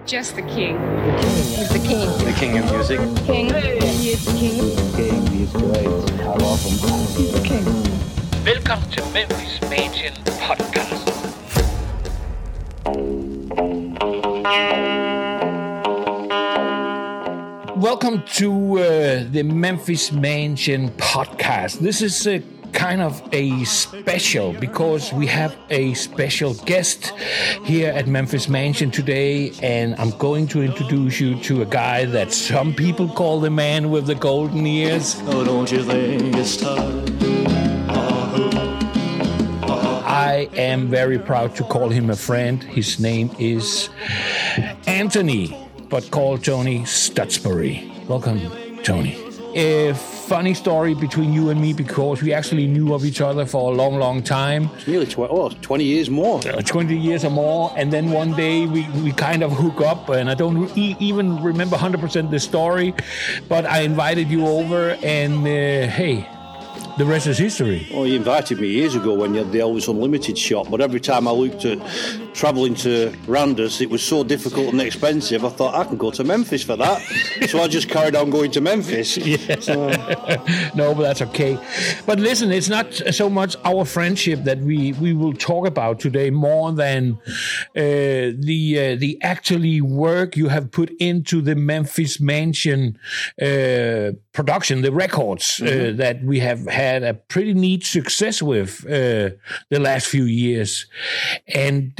just the king. He's the king. The king of music. King. He is the king. King, he's great. I love him. He's the king. Velkommen til Memphis Mansion Podcast. Welcome to the Memphis Mansion Podcast. This is kind of a special because we have a special guest here at Memphis Mansion today, and I'm going to introduce you to a guy that some people call the man with the golden ears. Oh, don't you think it's time? I am very proud to call him a friend. His name is Anthony, but called Tony Stutsbury. Welcome, Tony. A funny story between you and me because we actually knew of each other for a long, long time. It's nearly 20 years more. 20 years or more. And then one day we kind of hook up, and I don't even remember 100% the story, but I invited you over, and hey, the rest is history. Well, you invited me years ago when you had the Elvis Unlimited shop, but every time I looked at travelling to Randers, it was so difficult and expensive, I thought I can go to Memphis for that. So I just carried on going to Memphis. Yeah. No, but that's okay. But listen, it's not so much our friendship that we will talk about today, more than the actually work you have put into the Memphis Mansion production, the records that we have had a pretty neat success with the last few years, and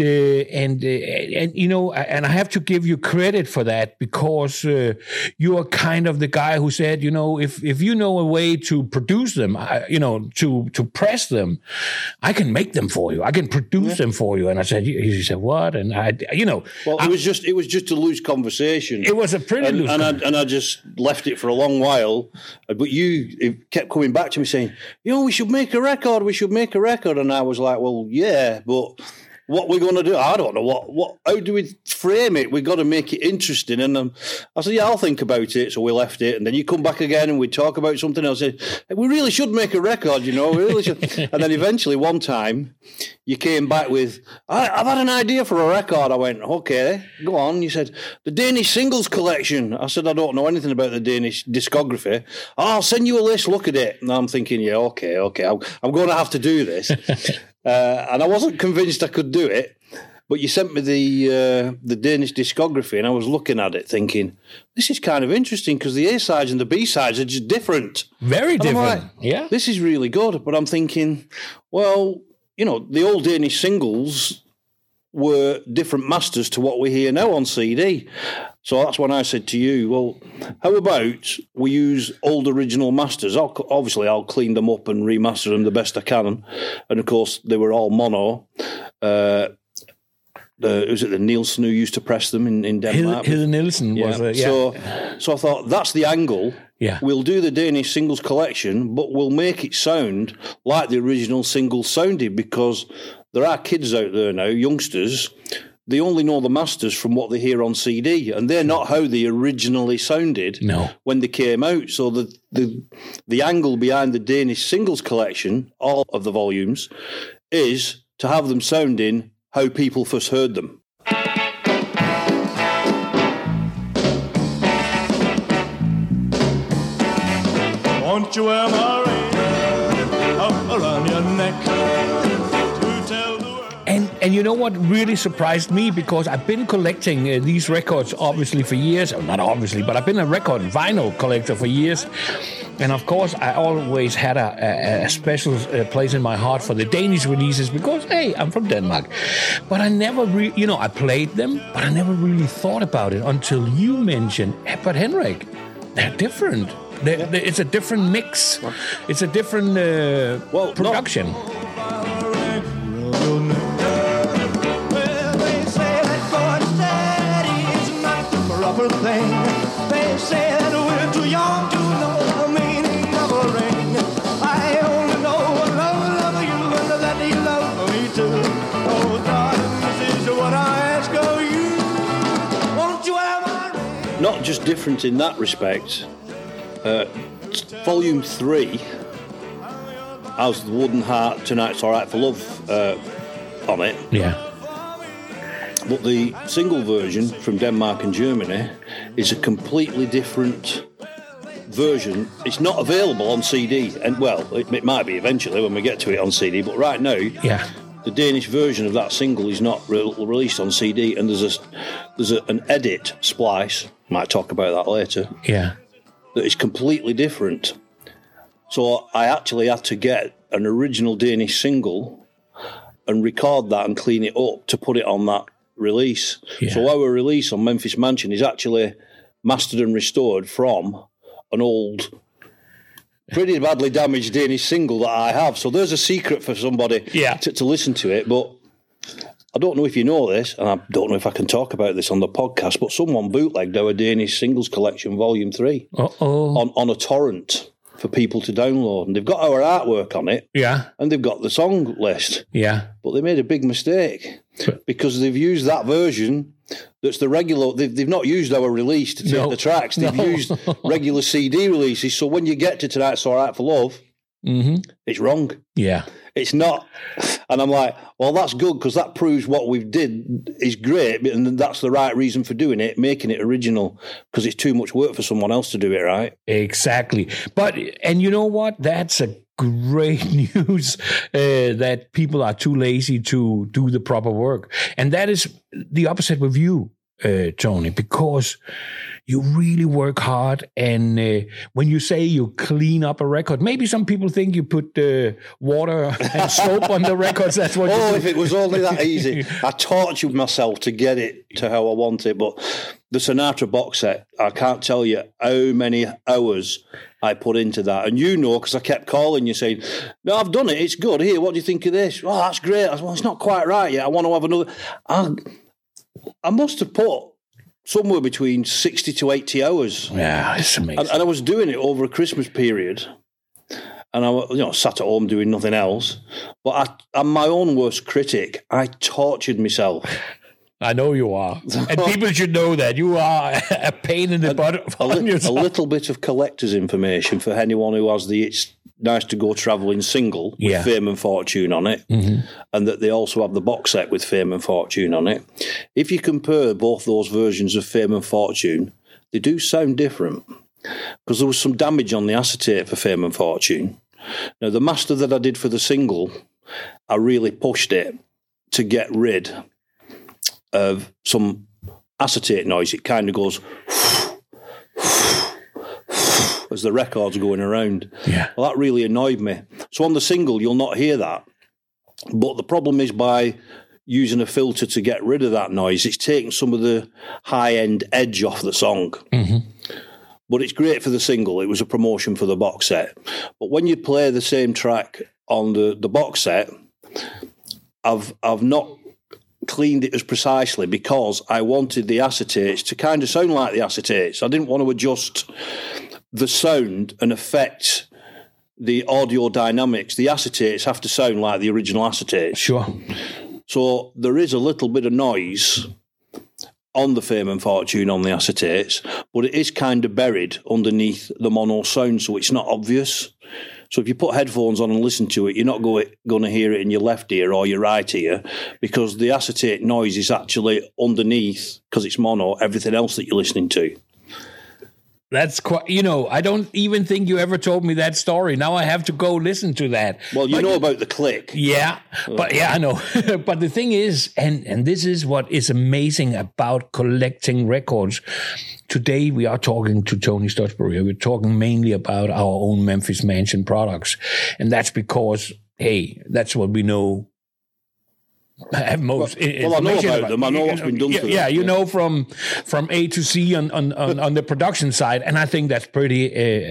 you know, and I have to give you credit for that because you are kind of the guy who said, you know, if you know a way to produce them, you know, to press them, I can make them for you. I can produce them for you. And I said, he said, what? And I, you know, well, it was just a loose conversation. It was a pretty loose, and I just left it for a long while. But you kept coming back to me saying, you know, we should make a record. And I was like, well, yeah, but what we're going to do, I don't know. What? How do we frame it? We've got to make it interesting. And I said, yeah, I'll think about it. So we left it. And then you come back again and we talk about something else. I said, we really should make a record, you know. We really should. And then eventually one time you came back with, I've had an idea for a record. I went, okay, go on. You said, the Danish Singles Collection. I said, I don't know anything about the Danish discography. Oh, I'll send you a list, look at it. And I'm thinking, yeah, okay. I'm going to have to do this. And I wasn't convinced I could do it, but you sent me the Danish discography, and I was looking at it thinking, this is kind of interesting because the A-sides and the B-sides are just different. Very different, like, yeah. This is really good, but I'm thinking, well, you know, the old Danish singles were different masters to what we hear now on CD. So that's when I said to you, well, how about we use old original masters? I'll clean them up and remaster them the best I can. And of course, they were all mono. Was it the Nielsen who used to press them in Denmark? Hilde Nielsen was it, yeah. So I thought, that's the angle. Yeah. We'll do the Danish singles collection, but we'll make it sound like the original singles sounded, because there are kids out there now, youngsters, they only know the masters from what they hear on CD, and they're not how they originally sounded when they came out. So the angle behind the Danish singles collection, all of the volumes, is to have them sounding how people first heard them. Won't you wear my ring up around your neck to tell the world? And you know what really surprised me, because I've been collecting these records obviously for years, or not obviously, but I've been a record vinyl collector for years. And of course, I always had a special place in my heart for the Danish releases because, hey, I'm from Denmark. But I never I played them, but I never really thought about it until you mentioned, but Henrik, they're different. It's a different mix. It's a different production. Thing. They say that we're too young to know the meaning of a ring. I only know I love you and that you love me too. Oh, darling, this is what I ask of you. Won't you have my ring? Not just different in that respect. Volume 3 has the Wooden Heart, Tonight's Alright for Love on it. Yeah. But the single version from Denmark and Germany is a completely different version. It's not available on CD, and well, it might be eventually when we get to it on CD. But right now, the Danish version of that single is not released on CD, and there's an edit splice. Might talk about that later. Yeah, that is completely different. So I actually had to get an original Danish single and record that and clean it up to put it on that release. Yeah. So our release on Memphis Mansion is actually mastered and restored from an old, pretty badly damaged Danish single that I have. So there's a secret for somebody to listen to it. But I don't know if you know this, and I don't know if I can talk about this on the podcast, but someone bootlegged our Danish Singles Collection Volume 3 on a torrent for people to download. And they've got our artwork on it, and they've got the song list. Yeah. But they made a big mistake because they've used that version that's the regular. They've not used our release to take the tracks. They've used regular CD releases. So when you get to Tonight's All Right for Love, it's wrong. Yeah. It's not. And I'm like, well, that's good because that proves what we've did is great, and that's the right reason for doing it, making it original, because it's too much work for someone else to do it, right? Exactly. And you know what? That's a great news that people are too lazy to do the proper work. And that is the opposite with you, Tony, because you really work hard, and when you say you clean up a record, maybe some people think you put water and soap on the records. That's what. Oh, if it was only that easy! I tortured myself to get it to how I want it. But the Sinatra box set, I can't tell you how many hours I put into that, and you know, because I kept calling you saying, "No, I've done it. It's good. Here, what do you think of this? Oh, that's great." I said, well, it's not quite right yet. I want to have another. I must have put somewhere between 60 to 80 hours. Yeah, it's amazing. And I was doing it over a Christmas period. And I sat at home doing nothing else. But I'm my own worst critic. I tortured myself. I know you are. And people should know that. You are a pain in the butt on yourself. A little bit of collector's information for anyone who has the It's Nice to Go Travelling single with Fame and Fortune on it, and that they also have the box set with Fame and Fortune on it. If you compare both those versions of Fame and Fortune, they do sound different, because there was some damage on the acetate for Fame and Fortune. Now, the master that I did for the single, I really pushed it to get rid of some acetate noise. It kind of goes as the record's going around. Yeah. Well, that really annoyed me. So on the single, you'll not hear that. But the problem is by using a filter to get rid of that noise, it's taking some of the high-end edge off the song. But it's great for the single. It was a promotion for the box set. But when you play the same track on the box set, I've not cleaned it as precisely because I wanted the acetates to kind of sound like the acetates. I didn't want to adjust the sound and affect the audio dynamics. The acetates have to sound like the original acetates. Sure. So there is a little bit of noise on the Fame and Fortune on the acetates, but it is kind of buried underneath the mono sound, so it's not obvious. So if you put headphones on and listen to it, you're not going to hear it in your left ear or your right ear, because the acetate noise is actually underneath, because it's mono, everything else that you're listening to. That's quite, I don't even think you ever told me that story. Now I have to go listen to that. Well, you know about the click. Yeah, but I know. But the thing is, and this is what is amazing about collecting records. Today we are talking to Tony Studsbury. We're talking mainly about our own Memphis Mansion products. And that's because, hey, that's what we know. Have most well, I know about them. I know what's been done to them. Yeah, you know from A to Z on the production side, and I think that's pretty.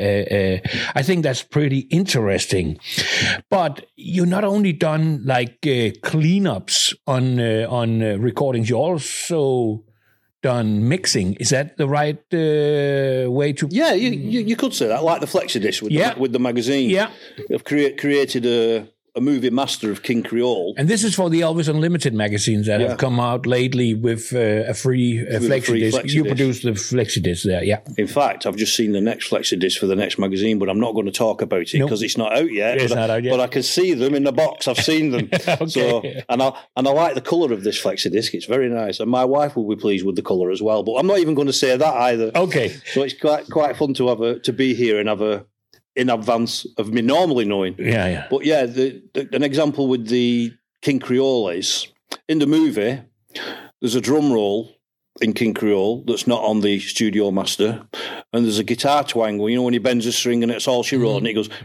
Interesting. But you not only done like cleanups on recordings, you also done mixing. Is that the right way to? Yeah, you could say that, like the Flexi Disc with the magazine. Yeah, I've created a a movie master of King Creole. And this is for the Elvis Unlimited magazines that have come out lately with a free flexi disc. You produced the flexi disc there, yeah. In fact, I've just seen the next flexi disc for the next magazine, but I'm not going to talk about it because it's not out yet. It's not out yet. But I can see them in the box. I've seen them. Okay. So, and I like the colour of this flexi disc. It's very nice, and my wife will be pleased with the colour as well. But I'm not even going to say that either. Okay. So it's quite fun to be here and have in advance of me normally knowing. Yeah. But yeah, an example with the King Creole is, in the movie, there's a drum roll in King Creole that's not on the studio master, and there's a guitar twang, when he bends a string and it's all she wrote, and it goes,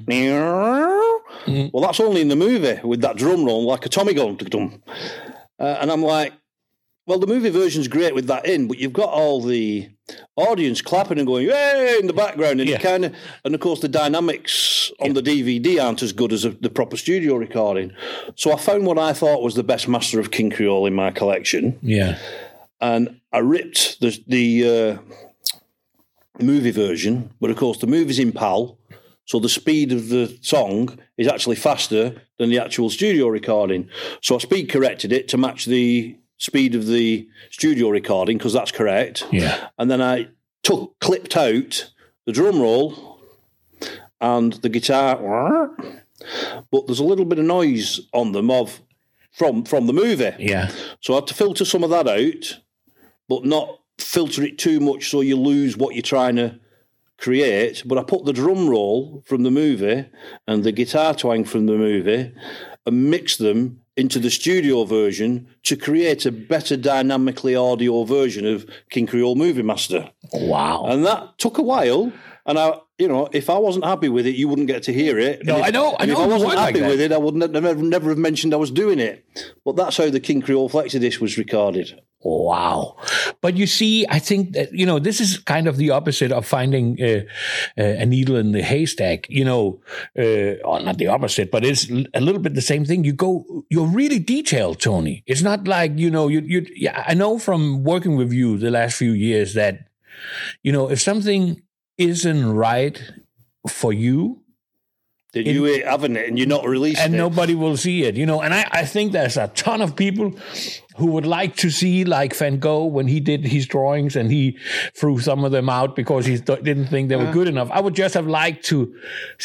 well, that's only in the movie with that drum roll, like a Tommy gun. And I'm like, well, the movie version's great with that in, but you've got all the audience clapping and going, "Yay!" in the background, and and of course the dynamics on the DVD aren't as good as the proper studio recording. So I found what I thought was the best master of King Creole in my collection. Yeah, and I ripped the movie version, but of course the movie's in PAL, so the speed of the song is actually faster than the actual studio recording. So I speed corrected it to match the speed of the studio recording, because that's correct. Yeah. And then I clipped out the drum roll and the guitar, but there's a little bit of noise on them from the movie. Yeah. So I had to filter some of that out, but not filter it too much so you lose what you're trying to create. But I put the drum roll from the movie and the guitar twang from the movie and mixed them into the studio version to create a better dynamically audio version of King Creole Movie Master. Wow. And that took a while. And if I wasn't happy with it, you wouldn't get to hear it. No, I know. If I wasn't happy with it, I would never have mentioned I was doing it. But that's how the King Creole Flexi Disc was recorded. Wow. But you see, I think that, this is kind of the opposite of finding a needle in the haystack, or not the opposite, but it's a little bit the same thing. You're really detailed, Tony. It's not like, I know from working with you the last few years that, if something isn't right for you, then you ain't having it and you're not releasing it. And nobody will see it, And I think there's a ton of people who would like to see, like Van Gogh, when he did his drawings and he threw some of them out because he didn't think they were good enough. I would just have liked to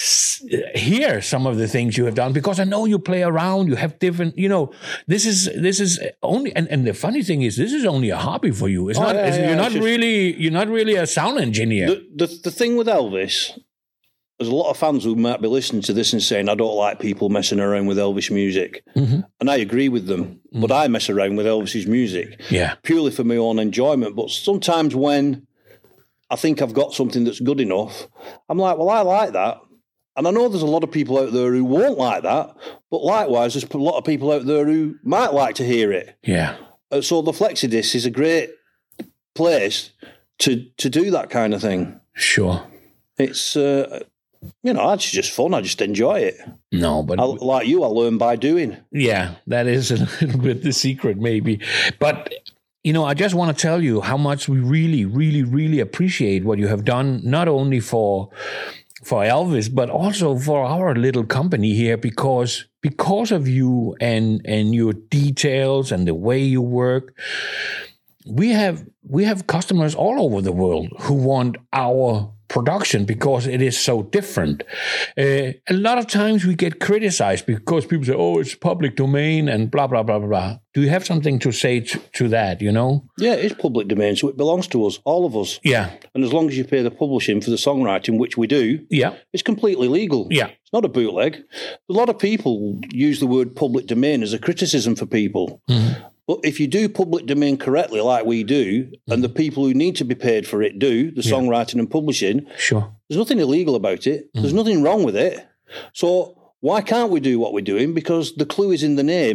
hear some of the things you have done, because I know you play around, you have different, this is only, and the funny thing is, this is only a hobby for you. It's you're not really a sound engineer. The thing with Elvis, there's a lot of fans who might be listening to this and saying, I don't like people messing around with Elvis music. Mm-hmm. And I agree with them. Mm-hmm. But I mess around with Elvis's music purely for my own enjoyment. But sometimes when I think I've got something that's good enough, I'm like, well, I like that. And I know there's a lot of people out there who won't like that. But likewise, there's a lot of people out there who might like to hear it. Yeah. So the Flexi Disc is a great place to do that kind of thing. Sure. It's... it's just fun. I just enjoy it. No, but... like you, I learn by doing. Yeah, that is a little bit the secret, maybe. But, I just want to tell you how much we really, really, really appreciate what you have done, not only for Elvis, but also for our little company here, because of you and your details and the way you work, we have customers all over the world who want our production because it is so different. A lot of times we get criticized because people say, oh, it's public domain and blah, blah, blah, blah. Do you have something to say to that, Yeah, it's public domain, so it belongs to us, all of us. Yeah. And as long as you pay the publishing for the songwriting, which we do, it's completely legal. Yeah. It's not a bootleg. A lot of people use the word public domain as a criticism for people. Mm-hmm. But if you do public domain correctly, like we do, and the people who need to be paid for it do, the songwriting and publishing, sure, there's nothing illegal about it. There's nothing wrong with it. So why can't we do what we're doing? Because the clue is in the name,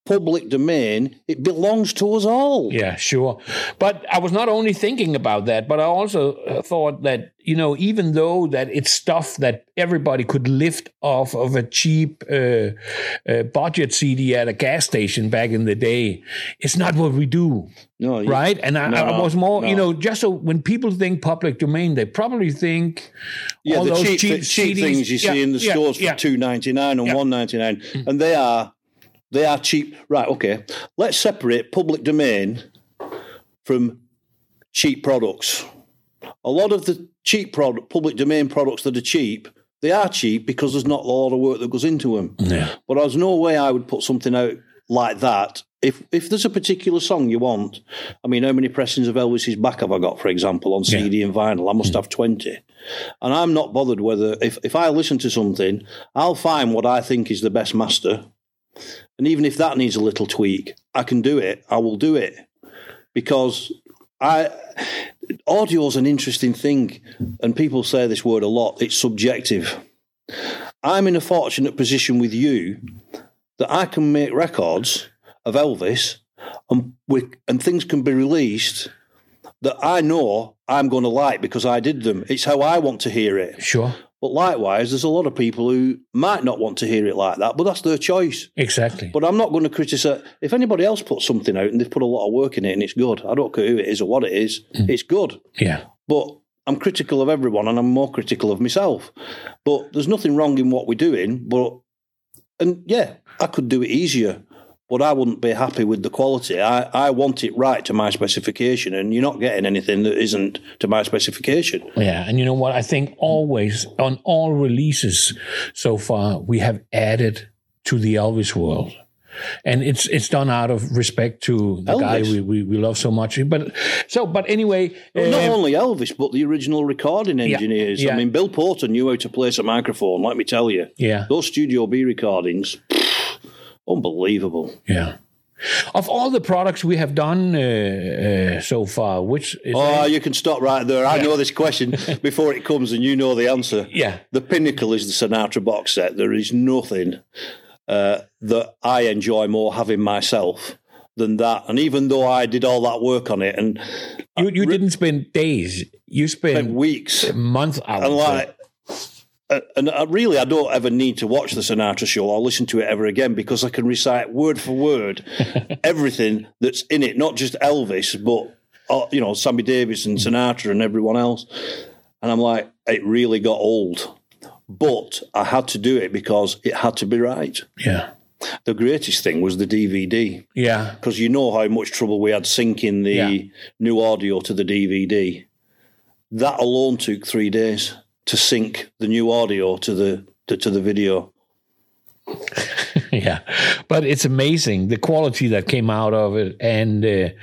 public domain, it belongs to us all. Yeah, sure. But I was not only thinking about that, but I also thought that, even though that it's stuff that everybody could lift off of a cheap budget CD at a gas station back in the day, it's not what we do. No, right? And I was more, just so when people think public domain, they probably think all the those cheap CDs. things you see in the stores for $2.99 and $1.99, and they are cheap. Right? Okay, let's separate public domain from cheap products. A lot of the cheap public domain products that are cheap, they are cheap because there's not a lot of work that goes into them. Yeah. But there's no way I would put something out like that. If there's a particular song you want, I mean, how many pressings of Elvis's Back have I got, for example, on CD and vinyl? I must have 20. And I'm not bothered whether, if I listen to something, I'll find what I think is the best master. And even if that needs a little tweak, I can do it. I will do it. Because audio's an interesting thing. And people say this word a lot. It's subjective. I'm in a fortunate position with you that I can make records of Elvis, and things can be released that I know I'm going to like because I did them. It's how I want to hear it. Sure. But likewise, there's a lot of people who might not want to hear it like that, but that's their choice. Exactly. But I'm not going to criticise. If anybody else puts something out and they've put a lot of work in it and it's good, I don't care who it is or what it is, it's good. Yeah. But I'm critical of everyone and I'm more critical of myself. But there's nothing wrong in what we're doing. And I could do it easier. But I wouldn't be happy with the quality. I want it right to my specification, and you're not getting anything that isn't to my specification. Yeah, and you know what? I think always, on all releases so far, we have added to the Elvis world. And it's done out of respect to the Elvis. guy we love so much. But anyway... Not only Elvis, but the original recording engineers. Yeah. I mean, Bill Porter knew how to place a microphone, let me tell you. Yeah. Those Studio B recordings... unbelievable. Yeah. Of all the products we have done so far, which is... you can stop right there. I know this question before it comes and you know the answer. Yeah. The pinnacle is the Sinatra box set. There is nothing that I enjoy more having myself than that. And even though I did all that work on it... and You didn't spend days. You spent weeks. Months out. And I don't ever need to watch the Sinatra show or listen to it ever again because I can recite word for word everything that's in it, not just Elvis, but Sammy Davis and Sinatra and everyone else. And I'm like, it really got old. But I had to do it because it had to be right. Yeah. The greatest thing was the DVD. Yeah. Because you know how much trouble we had syncing the new audio to the DVD. That alone took 3 days to sync the new audio to the video. Yeah, but it's amazing the quality that came out of it, and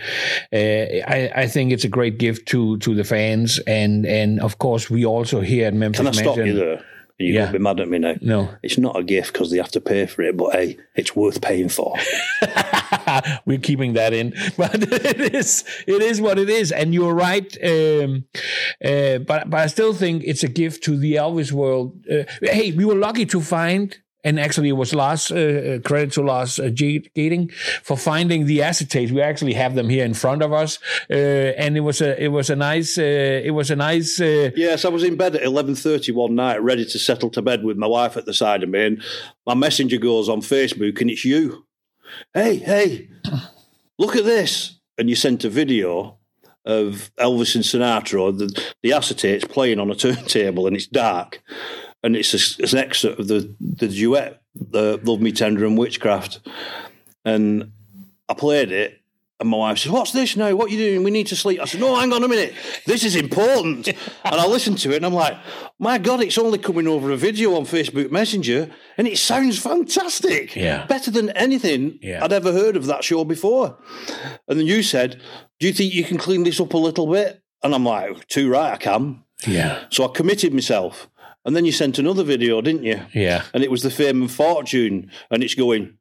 I think it's a great gift to the fans, and of course we also here at Memphis. Can I stop you there? You're going to be mad at me now. No. It's not a gift because they have to pay for it, but hey, it's worth paying for. We're keeping that in. But it is what it is. And you're right. But I still think it's a gift to the Elvis world. Hey, we were lucky to find... And actually, it was Lars, credit to Lars Gating for finding the acetates. We actually have them here in front of us, and it was a nice. Yes, I was in bed at 11:30 one night, ready to settle to bed with my wife at the side of me, and my messenger goes on Facebook, and it's you. Hey, look at this! And you sent a video of Elvis and Sinatra, the acetates playing on a turntable, and it's dark. And it's an excerpt of the duet, the Love Me Tender and Witchcraft. And I played it, and my wife says, "What's this now? What are you doing? We need to sleep." I said, "No, hang on a minute. This is important." And I listened to it, and I'm like, my God, it's only coming over a video on Facebook Messenger, and it sounds fantastic. Yeah. Better than anything I'd ever heard of that show before. And then you said, "Do you think you can clean this up a little bit?" And I'm like, too right, I can. Yeah. So I committed myself. And then you sent another video, didn't you? Yeah. And it was the Fame and Fortune, and it's going...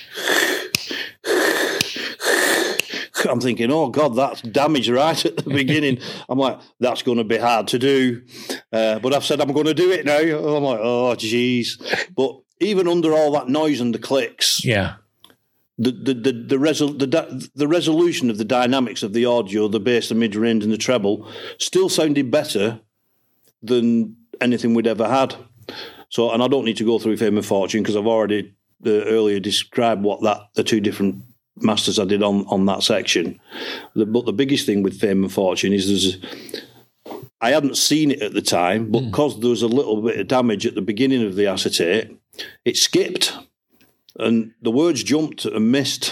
I'm thinking, oh, God, that's damage right at the beginning. I'm like, that's going to be hard to do. But I've said I'm going to do it now. I'm like, oh, geez. But even under all that noise and the clicks, the resolution of the dynamics of the audio, the bass, the mid-range, and the treble still sounded better than anything we'd ever had. So, and I don't need to go through Fame and Fortune because I've already earlier described what the two different masters I did on that section. But the biggest thing with Fame and Fortune is I hadn't seen it at the time, but because there was a little bit of damage at the beginning of the acetate, it skipped and the words jumped and missed.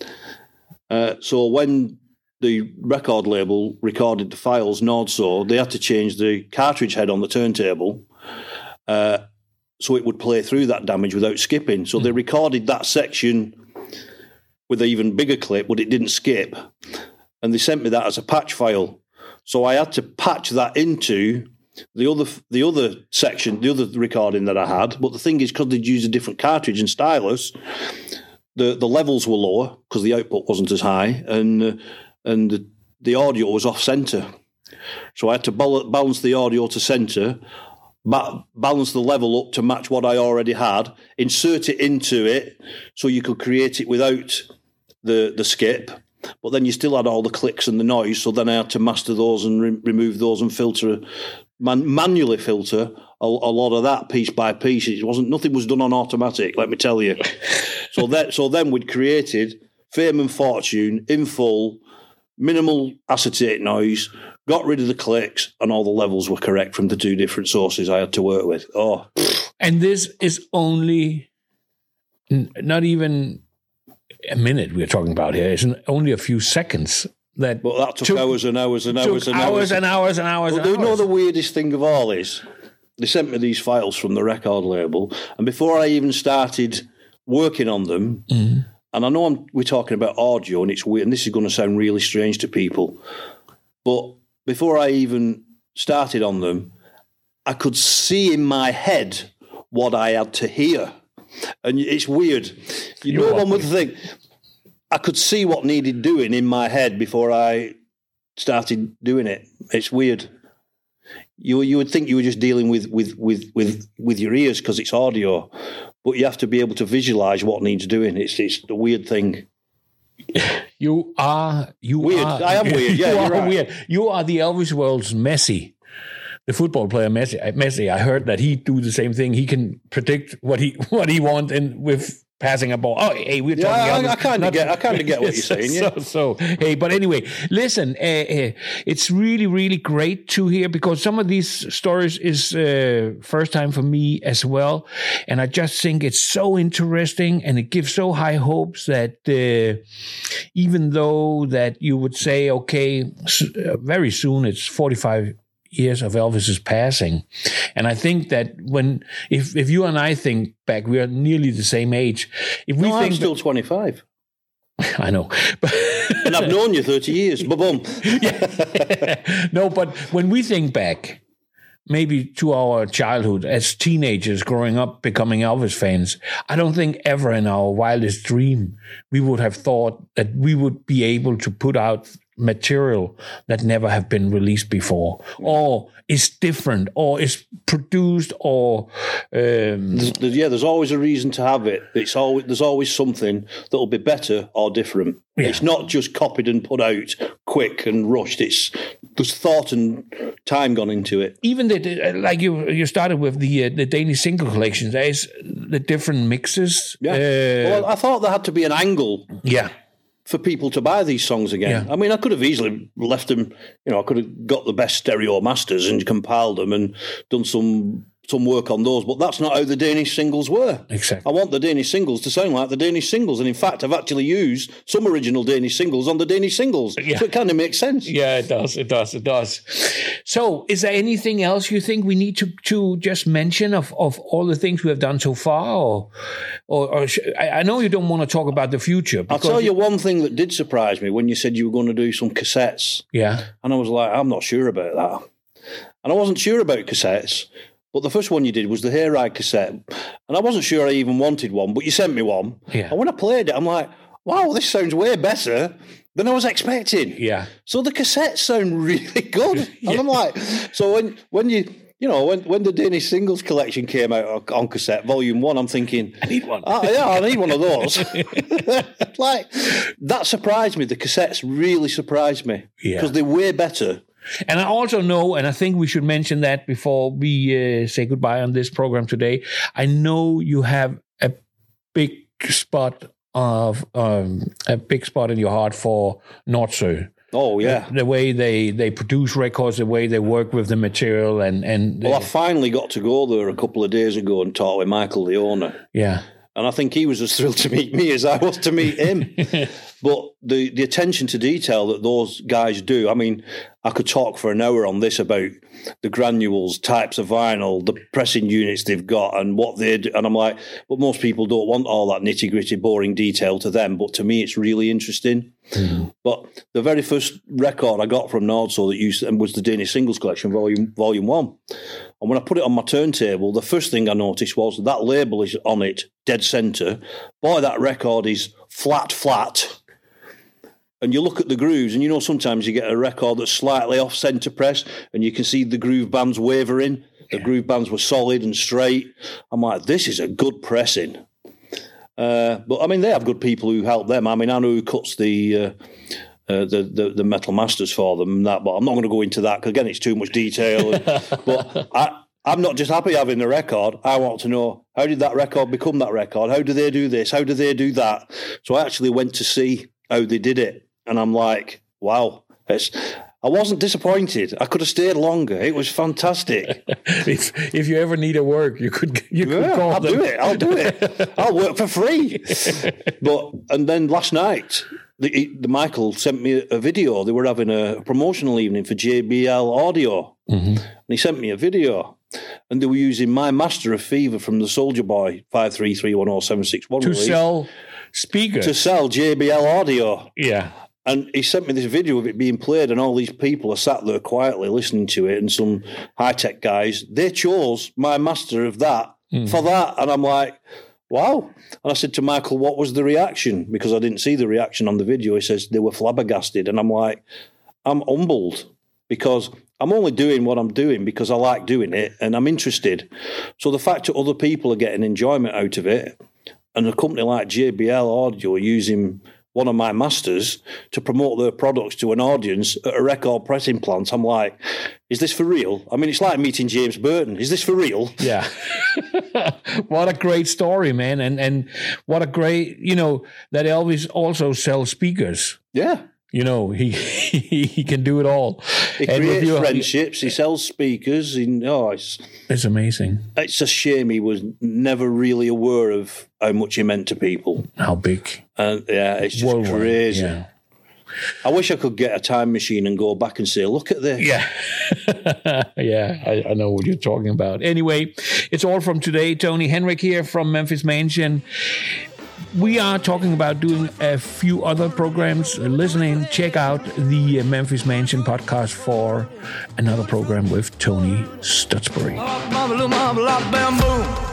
So when the record label recorded the files, Nordso, they had to change the cartridge head on the turntable so it would play through that damage without skipping. So they recorded that section with an even bigger clip, but it didn't skip. And they sent me that as a patch file. So I had to patch that into the other section, the other recording that I had. But the thing is, because they'd used a different cartridge and stylus, the levels were lower because the output wasn't as high, and the audio was off center. So I had to balance the audio to center, balance the level up to match what I already had, insert it into it so you could create it without the skip, but then you still had all the clicks and the noise, so then I had to master those and remove those and filter, manually filter a lot of that piece by piece. Nothing was done on automatic, let me tell you. So then we'd created Fame and Fortune in full, minimal acetate noise, got rid of the clicks, and all the levels were correct from the two different sources I had to work with. And this is only not even a minute we're talking about here. It's only a few seconds. But that took hours and hours and hours and hours. But you know the weirdest thing of all is they sent me these files from the record label, and before I even started working on them, and I know we're talking about audio and it's weird, and this is going to sound really strange to people, but before I even started on them, I could see in my head what I had to hear. And it's weird. No one would think. I could see what needed doing in my head before I started doing it. It's weird. You would think you were just dealing with your ears because it's audio, but you have to be able to visualize what needs doing. It's the weird thing. You are weird. I am weird. Yeah, you are right. weird. You are the Elvis world's Messi. The football player Messi, I heard that he do the same thing. He can predict what he wants with passing a ball. Oh, hey, we're talking. I kind of get what you're saying. Yeah. So, hey, but anyway, listen. It's really, really great to hear because some of these stories is first time for me as well, and I just think it's so interesting and it gives so high hopes that even though that you would say, okay, very soon it's 45 years of Elvis's passing. And I think that if you and I think back, we are nearly the same age. I'm still 25. I know. And I've known you 30 years. Ba-boom. No, but when we think back, maybe to our childhood as teenagers growing up, becoming Elvis fans, I don't think ever in our wildest dream we would have thought that we would be able to put out material that never have been released before, or is different, or is produced, or there's always a reason to have it. There's always something that'll be better or different. Yeah. It's not just copied and put out quick and rushed. There's thought and time gone into it. Even like you started with the Danish single collections. There's the different mixes. Yeah. Well, I thought there had to be an angle. Yeah. For people to buy these songs again. Yeah. I mean, I could have easily left them, I could have got the best stereo masters and compiled them and done some work on those, but that's not how the Danish singles were. Exactly. I want the Danish singles to sound like the Danish singles, and in fact, I've actually used some original Danish singles on the Danish singles, so it kind of makes sense. Yeah, it does. So, is there anything else you think we need to just mention of all the things we have done so far, or I know you don't want to talk about the future. I'll tell you one thing that did surprise me when you said you were going to do some cassettes. Yeah. And I was like, I'm not sure about that. And I wasn't sure about cassettes. But the first one you did was the Hayride cassette. And I wasn't sure I even wanted one, but you sent me one. Yeah. And when I played it, I'm like, wow, this sounds way better than I was expecting. Yeah. So the cassettes sound really good. And I'm like, so when you you know, when the Danish Singles Collection came out on cassette, Volume 1, I'm thinking, I need one. I need one of those. Like, that surprised me. The cassettes really surprised me. Yeah. Because they're way better. And I also know, and I think we should mention that before we say goodbye on this program today, I know you have a big spot in your heart for Nordsø. Oh, yeah. The way they produce records, the way they work with the material, and Well, I finally got to go there a couple of days ago and talk with Michael, the owner. yeah. And I think he was as thrilled to meet me as I was to meet him. But the attention to detail that those guys do, I mean, I could talk for an hour on this about the granules, types of vinyl, the pressing units they've got and what they do. And I'm like, but most people don't want all that nitty-gritty, boring detail to them. But to me, it's really interesting. Mm. But the very first record I got from Nordsø that was the Danish Singles Collection, Volume 1. And when I put it on my turntable, the first thing I noticed was that label is on it, dead centre. Boy, that record is flat. And you look at the grooves, and you know sometimes you get a record that's slightly off centre press, and you can see the groove bands wavering. The groove bands were solid and straight. I'm like, this is a good pressing. But, I mean, they have good people who help them. I mean, I know who cuts the metal masters for them and that, but I'm not going to go into that because, again, it's too much detail. But I'm not just happy having the record. I want to know, how did that record become that record? How do they do this? How do they do that? So I actually went to see how they did it. And I'm like, wow. I wasn't disappointed. I could have stayed longer. It was fantastic. If you ever need a work, you could call I'll them. I'll do it. I'll work for free. And then last night, the Michael sent me a video. They were having a promotional evening for JBL Audio. Mm-hmm. And he sent me a video. And they were using My Master of Fever from the Soldier Boy 533107661 to release. sell speakers. To sell JBL Audio. Yeah. And he sent me this video of it being played, and all these people are sat there quietly listening to it, and some high-tech guys, they chose My Master of that for that. And I'm like, wow. And I said to Michael, what was the reaction? Because I didn't see the reaction on the video. He says they were flabbergasted. And I'm like, I'm humbled because I'm only doing what I'm doing because I like doing it and I'm interested. So the fact that other people are getting enjoyment out of it, and a company like JBL Audio using one of my masters to promote their products to an audience at a record pressing plant, I'm like, is this for real? I mean, it's like meeting James Burton. Is this for real? Yeah. What a great story, man. And what a great, that Elvis also sells speakers. Yeah. He can do it all. He creates friendships. He sells speakers. It's amazing. It's a shame he was never really aware of how much he meant to people. How big. And it's just worldwide, crazy. Yeah. I wish I could get a time machine and go back and say, look at this. Yeah. Yeah, I know what you're talking about. Anyway, it's all from today. Tony Henrik here from Memphis Mansion. We are talking about doing a few other programs. Listening, check out the Memphis Mansion podcast for another program with Tony Stutzbury. Bamboo.